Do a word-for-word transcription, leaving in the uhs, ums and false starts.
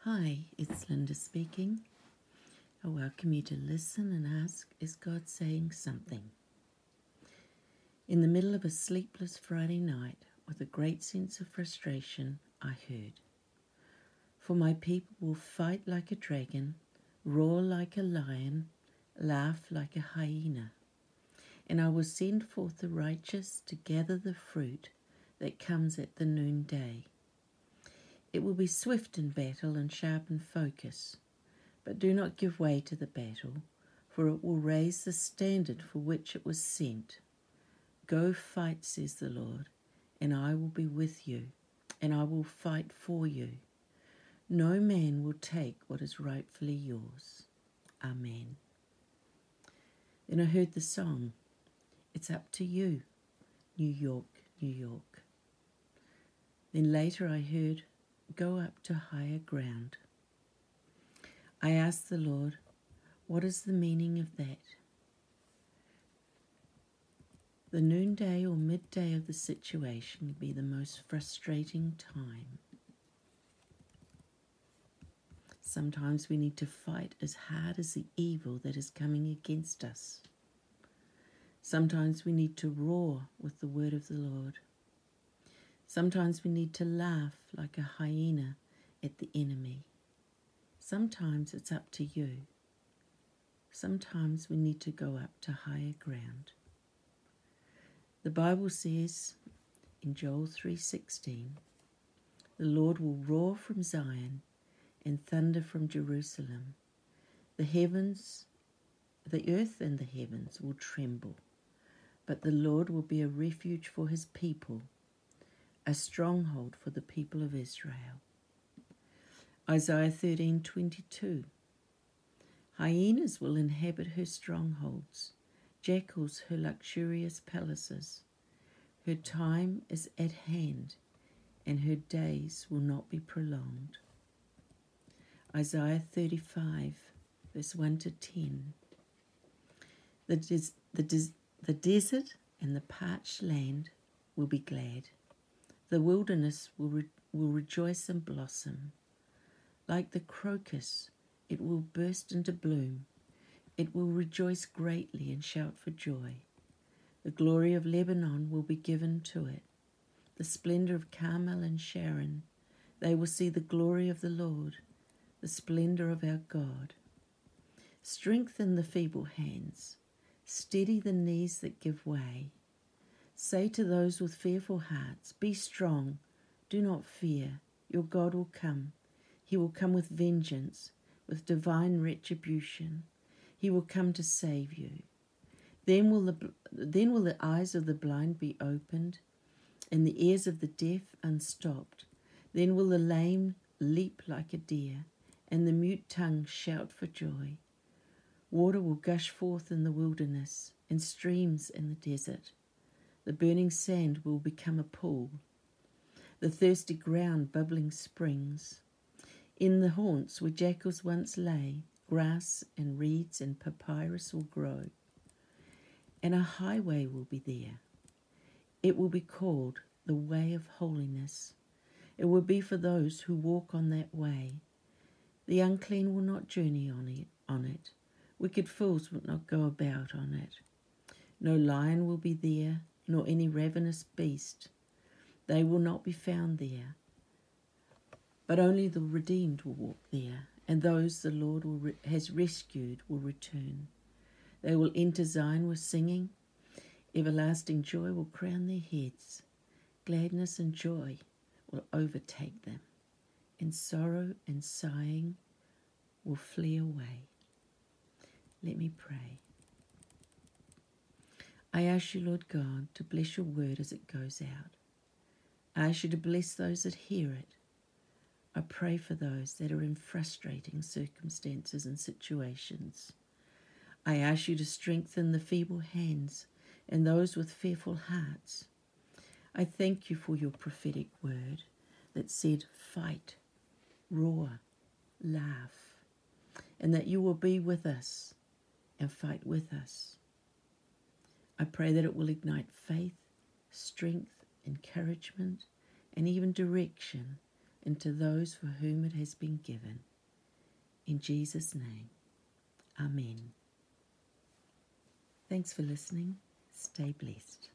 Hi, it's Linda speaking. I welcome you to listen and ask, is God saying something? In the middle of a sleepless Friday night, with a great sense of frustration, I heard, "For my people will fight like a dragon, roar like a lion, laugh like a hyena. And I will send forth the righteous to gather the fruit that comes at the noonday. It will be swift in battle and sharp in focus. But do not give way to the battle, for it will raise the standard for which it was sent. Go fight, says the Lord, and I will be with you, and I will fight for you. No man will take what is rightfully yours." Amen. Then I heard the song, "It's Up to You, New York, New York." Then later I heard, "Go up to higher ground." I asked the Lord, what is the meaning of that? The noonday or midday of the situation can be the most frustrating time. Sometimes we need to fight as hard as the evil that is coming against us. Sometimes we need to roar with the word of the Lord. Sometimes we need to laugh like a hyena at the enemy. Sometimes it's up to you. Sometimes we need to go up to higher ground. The Bible says in Joel three sixteen, "The Lord will roar from Zion and thunder from Jerusalem. The heavens, the earth and the heavens will tremble, but the Lord will be a refuge for his people, a stronghold for the people of Israel." Isaiah thirteen twenty-two, "Hyenas will inhabit her strongholds, jackals her luxurious palaces. Her time is at hand, and her days will not be prolonged." Isaiah thirty-five, verse one to ten. The, des- the, des- the desert and the parched land will be glad. The wilderness will, re- will rejoice and blossom. Like the crocus, it will burst into bloom. It will rejoice greatly and shout for joy. The glory of Lebanon will be given to it, the splendor of Carmel and Sharon. They will see the glory of the Lord, the splendor of our God. Strengthen the feeble hands, steady the knees that give way. Say to those with fearful hearts, "Be strong, do not fear, your God will come. He will come with vengeance, with divine retribution. He will come to save you. Then will the, then will the eyes of the blind be opened, and the ears of the deaf unstopped. Then will the lame leap like a deer, and the mute tongue shout for joy. Water will gush forth in the wilderness, and streams in the desert. The burning sand will become a pool, the thirsty ground bubbling springs. In the haunts where jackals once lay, grass and reeds and papyrus will grow, and a highway will be there. It will be called the way of holiness. It will be for those who walk on that way. The unclean will not journey on it, on it. Wicked fools will not go about on it. No lion will be there, nor any ravenous beast. They will not be found there. But only the redeemed will walk there, and those the Lord will re- has rescued will return. They will enter Zion with singing. Everlasting joy will crown their heads. Gladness and joy will overtake them, and sorrow and sighing will flee away. Let me pray. I ask you, Lord God, to bless your word as it goes out. I ask you to bless those that hear it. I pray for those that are in frustrating circumstances and situations. I ask you to strengthen the feeble hands and those with fearful hearts. I thank you for your prophetic word that said, fight, roar, laugh, and that you will be with us and fight with us. I pray that it will ignite faith, strength, encouragement, and even direction and to those for whom it has been given. In Jesus' name, Amen. Thanks for listening. Stay blessed.